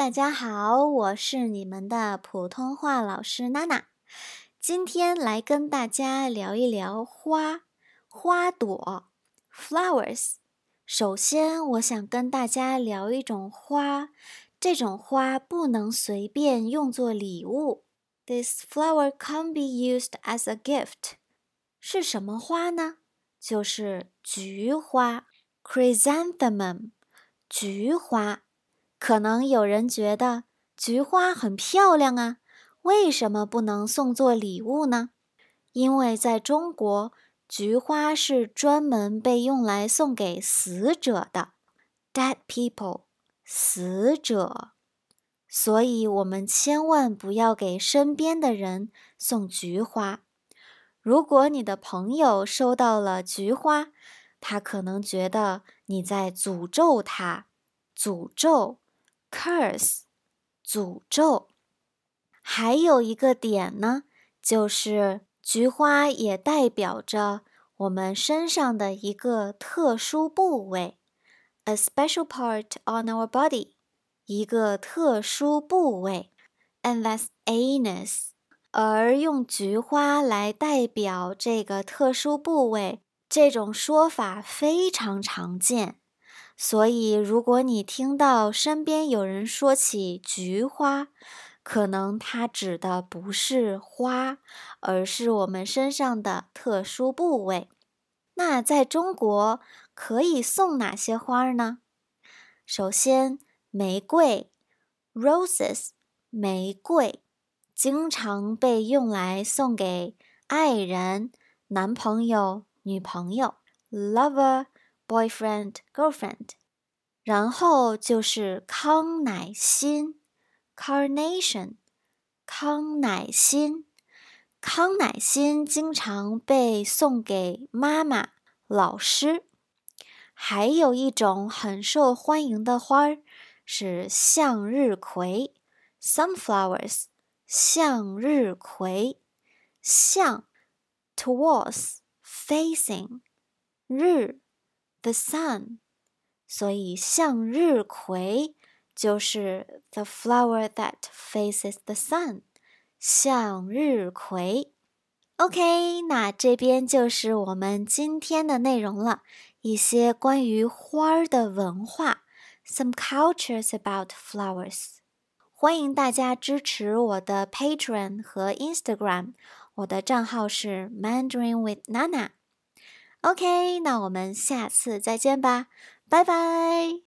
大家好，我是你们的普通话老师娜娜。今天来跟大家聊一聊花朵 flowers。首先，我想跟大家聊一种花，这种花不能随便用作礼物。This flower can't be used as a gift. 是什么花呢？就是菊花 chrysanthemum， 菊花。可能有人觉得菊花很漂亮啊，为什么不能送作礼物呢？因为在中国，菊花是专门被用来送给死者的 dead people， 死者。所以我们千万不要给身边的人送菊花。如果你的朋友收到了菊花，他可能觉得你在诅咒他，诅咒curse， 诅咒。还有一个点呢，就是菊花也代表着我们身上的一个特殊部位 ，a special part on our body， 一个特殊部位 ，and that's anus。而用菊花来代表这个特殊部位，这种说法非常常见。所以，如果你听到身边有人说起菊花，可能它指的不是花，而是我们身上的特殊部位。那在中国可以送哪些花呢？首先，玫瑰 （roses）， 玫瑰经常被用来送给爱人、男朋友、女朋友 （lover）。boyfriend, girlfriend， 然后就是康乃馨 carnation， 康乃馨。康乃馨经常被送给妈妈、老师。还有一种很受欢迎的花是向日葵 sunflowers， 向日葵。向 towards facing， 日 the sun， 所以向日葵就是 the flower that faces the sun， 向日葵。OK， 那这边就是我们今天的内容了，一些关于花的文化 ，some cultures about flowers。欢迎大家支持我的 Patreon 和 Instagram， 我的账号是 Mandarin with Nana。OK， 那我们下次再见吧，拜拜。